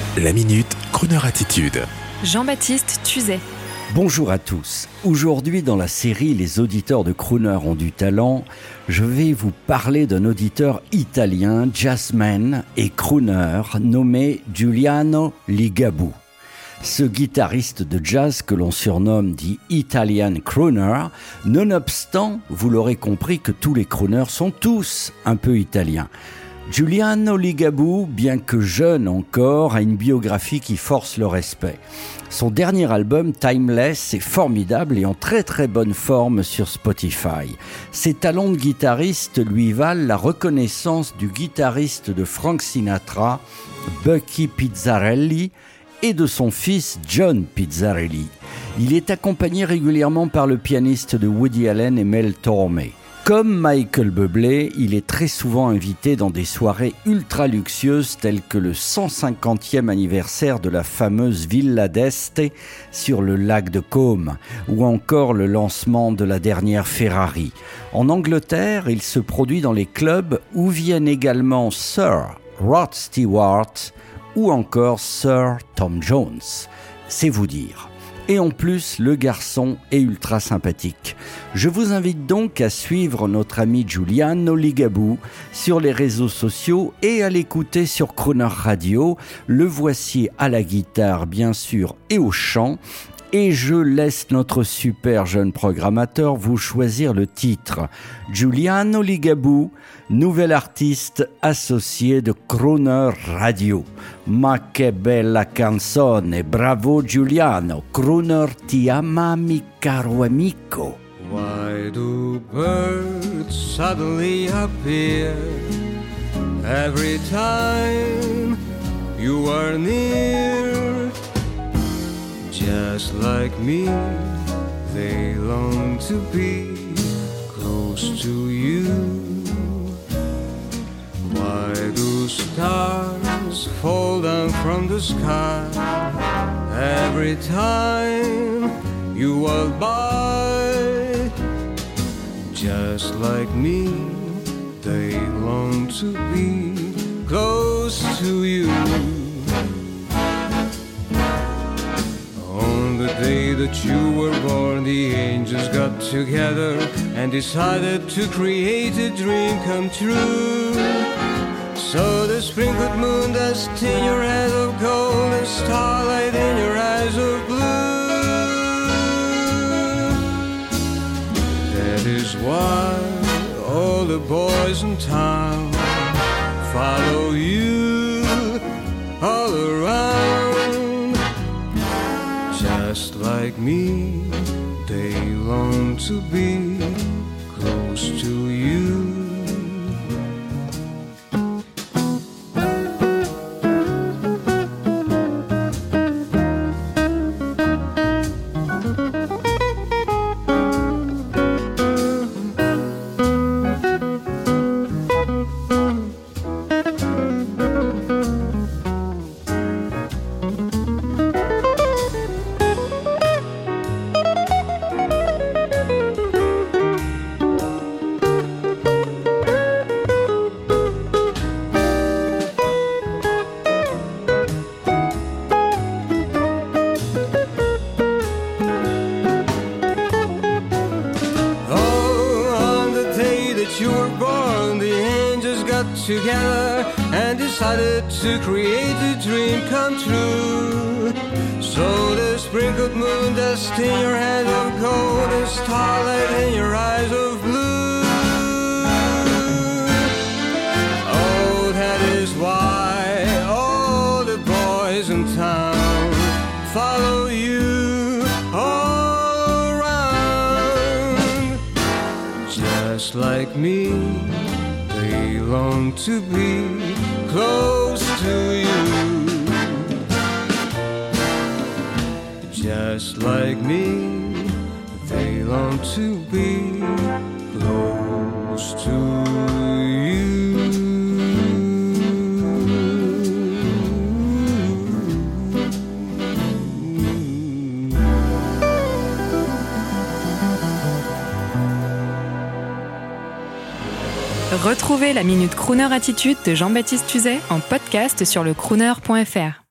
La Minute Crooner Attitude. Jean-Baptiste Tuzet. Bonjour à tous. Aujourd'hui dans la série Les auditeurs de Crooner ont du talent, je vais vous parler d'un auditeur italien, jazzman et crooner nommé Giuliano Ligabue. Ce guitariste de jazz que l'on surnomme dit Italian Crooner, nonobstant, vous l'aurez compris que tous les crooners sont tous un peu italiens. Giuliano Ligabue, bien que jeune encore, a une biographie qui force le respect. Son dernier album, Timeless, est formidable et en très très bonne forme sur Spotify. Ses talents de guitariste lui valent la reconnaissance du guitariste de Frank Sinatra, Bucky Pizzarelli, et de son fils John Pizzarelli. Il est accompagné régulièrement par le pianiste de Woody Allen et Mel Torme. Comme Michael Bublé, il est très souvent invité dans des soirées ultra luxueuses telles que le 150e anniversaire de la fameuse Villa d'Este sur le lac de Como ou encore le lancement de la dernière Ferrari. En Angleterre, il se produit dans les clubs où viennent également Sir Rod Stewart ou encore Sir Tom Jones. C'est vous dire. Et en plus, le garçon est ultra sympathique. Je vous invite donc à suivre notre ami Giuliano Ligabue sur les réseaux sociaux et à l'écouter sur Crooner Radio. Le voici à la guitare, bien sûr, et au chant. Et je laisse notre super jeune programmateur vous choisir le titre. Giuliano Ligabue, nouvel artiste associé de Crooner Radio. Ma che bella canzone, bravo Giuliano, Crooner ti ama mi caro amico. Why do birds suddenly appear every time you are near? Just like me, they long to be close to you. Why do stars fall down from the sky every time you walk by? Just like me, they long to be close to you. The day that you were born, the angels got together and decided to create a dream come true. So the sprinkled moon dust in your head of gold and starlight in your eyes of blue. That is why all the boys in town follow you all around. Just like me, they long to be close to you. You were born, the angels got together and decided to create a dream come true. So the sprinkled moon dust in your head of gold and starlight in your eyes of blue. Oh, that is why all the boys in town follow you all around. Just like me, they long to be close to you. Just like me, they long to be close to you. Retrouvez la Minute Crooner Attitude de Jean-Baptiste Tuzet en podcast sur le crooner.fr.